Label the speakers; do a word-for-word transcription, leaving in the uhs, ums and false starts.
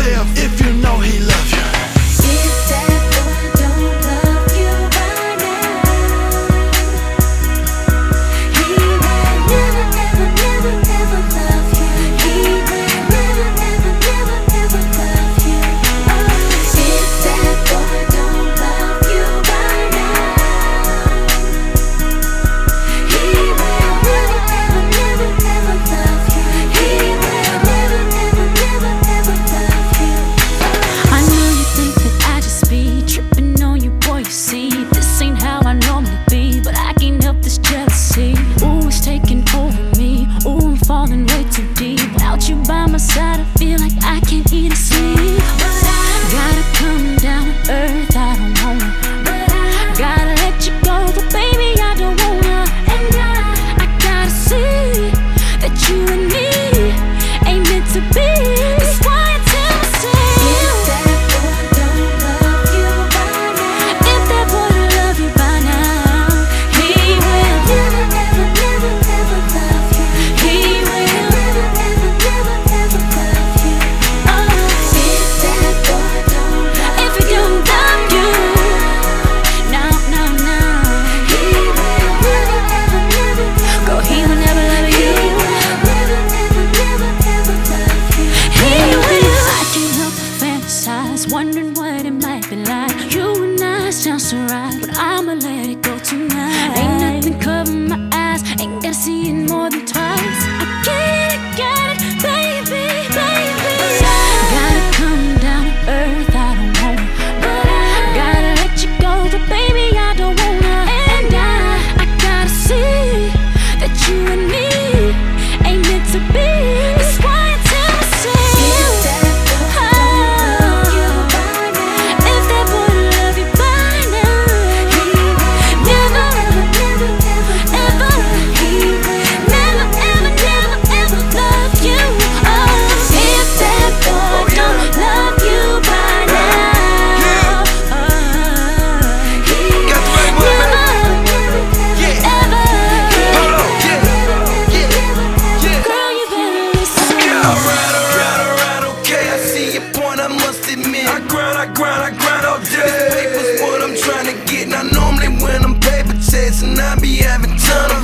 Speaker 1: yourself if you know he loves you.
Speaker 2: If that boy don't love you by now, he will never, ever, never, ever love you. He will never, ever, never, ever love you. Oh, if that boy don't love you by now, he will never, ever, never, ever love you. He will never, ever, never, ever love you. I know you think that I just be tripping on you, boy. You see, this ain't how I normally be, but I can't help this jealousy. Ooh, it's taking over me. Ooh, I'm falling way too deep. Without you by my side, I feel like I can't eat or sleep. Gotta come down to earth, I don't wanna. Gotta let you go, but baby, I don't wanna. And I, I gotta see that you and me ain't meant to be. That's why I tell myself, if that boy don't love you by now, if that boy don't love you by now, he will never, ever, never, ever love you. He will never, ever, never, ever love you. Oh, if that boy don't love you, if he don't love you, no, no, no, he will never, ever, never, go. He will never love you. He will never, ever, never, ever love you. He will. I can't help but fantasize, wondering what it might be like. You and I sound so right, but I'ma let it go tonight. Ain't nothing covering my eyes, ain't gotta see it more than twice. I get it, get it, baby, baby. Gotta come down to earth, I don't wanna. Gotta let you go, but baby, I don't wanna. And I, I gotta see that you and me ain't meant to be. That's why I tell myself, if that boy don't love you by now, if that boy don't love you by now, he will never, ever, never, ever, ever. He will never, ever, never, ever love you. Oh, if that boy don't love you by now, oh, he will
Speaker 1: Got the right one,
Speaker 2: never,
Speaker 1: baby. Yeah.
Speaker 2: ever.
Speaker 1: Hold on. Yeah. Yeah. Yeah.
Speaker 2: Girl, you better listen.
Speaker 1: Alright, alright, alright, okay. I see your point, I must admit. I grind, I grind, I grind all day. This paper's what I'm trying to get. Now normally when I'm paper chasing, I be having ton of